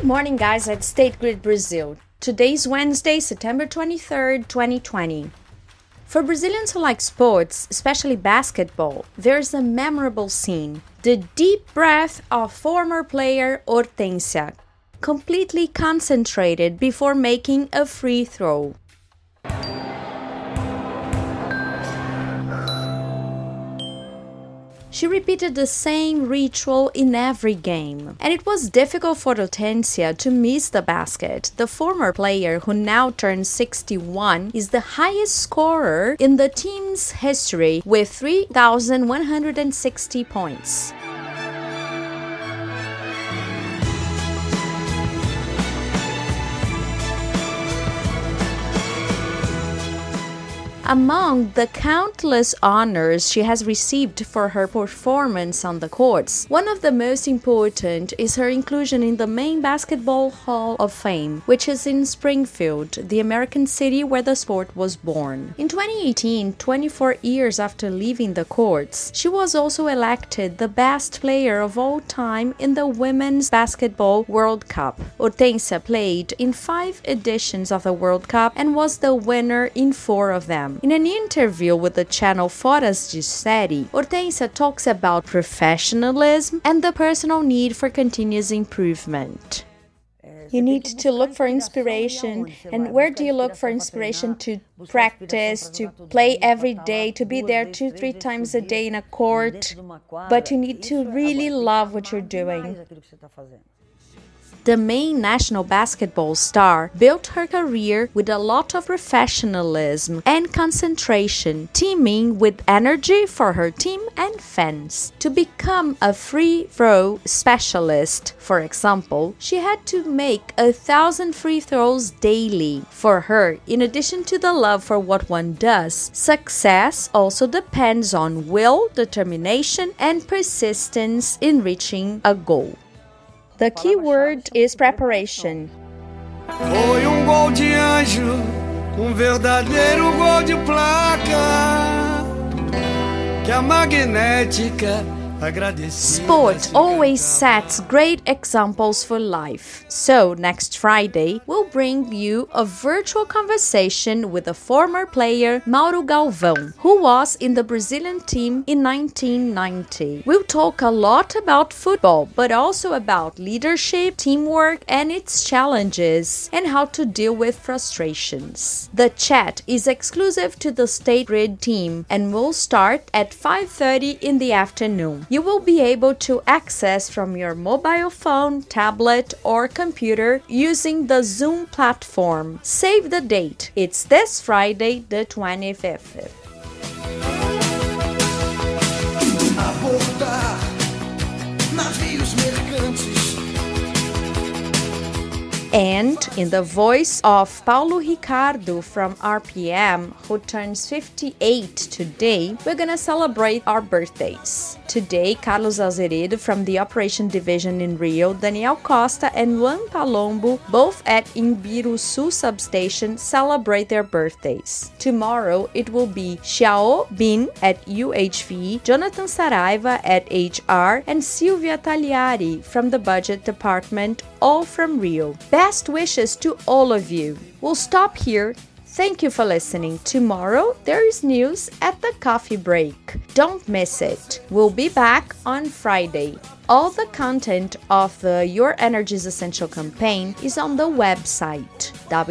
morning, guys, at State Grid Brazil. Today's Wednesday, September 23rd, 2020. For Brazilians who like sports, especially basketball, there's a memorable scene. The deep breath of former player Hortência, completely concentrated before making a free throw. She repeated the same ritual in every game, and it was difficult for Hortência to miss the basket. The former player, who now turns 61, is the highest scorer in the team's history with 3,160 points. Among the countless honors she has received for her performance on the courts, one of the most important is her inclusion in the main Basketball Hall of Fame, which is in Springfield, the American city where the sport was born. In 2018, 24 years after leaving the courts, she was also elected the best player of all time in the Women's Basketball World Cup. Hortência played in 5 editions of the World Cup and was the winner in 4 of them. In an interview with the channel Foras de Série, Hortência talks about professionalism and the personal need for continuous improvement. You need to look for inspiration. And where do you look for inspiration? To practice, to play every day, to be there 2-3 times a day in a court. But you need to really love what you're doing. The main national basketball star built her career with a lot of professionalism and concentration, teaming with energy for her team and fans. To become a free throw specialist, for example, she had to make 1,000 free throws daily. For her, in addition to the love for what one does, success also depends on will, determination, and persistence in reaching a goal. The key word is preparation. Foi gol de anjo, verdadeiro gol de placa, que a magnética agradeceu. Sport always sets great examples for life. So, next Friday, we'll bring you a virtual conversation with a former player, Mauro Galvão, who was in the Brazilian team in 1990. We'll talk a lot about football, but also about leadership, teamwork, and its challenges, and how to deal with frustrations. The chat is exclusive to the State Grid team and will start at 5:30 in the afternoon. You will be able to access from your mobile phone, tablet, or computer using the Zoom platform. Save the date. It's this Friday, the 25th. Abordar navios mercantes. And in the voice of Paulo Ricardo from RPM, who turns 58 today, we're gonna celebrate our birthdays. Today, Carlos Azeredo from the Operation Division in Rio, Daniel Costa and Juan Palombo, both at Imbiruçu substation, celebrate their birthdays. Tomorrow, it will be Xiao Bin at UHV, Jonathan Saraiva at HR, and Silvia Tagliari from the Budget Department, all from Rio. Best wishes to all of you. We'll stop here. Thank you for listening. Tomorrow, there is news at the coffee break. Don't miss it. We'll be back on Friday. All the content of the Your Energy's Essential campaign is on the website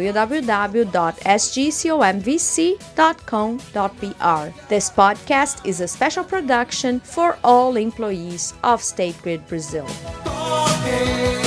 www.sgcomvc.com.br. This podcast is a special production for all employees of State Grid Brazil.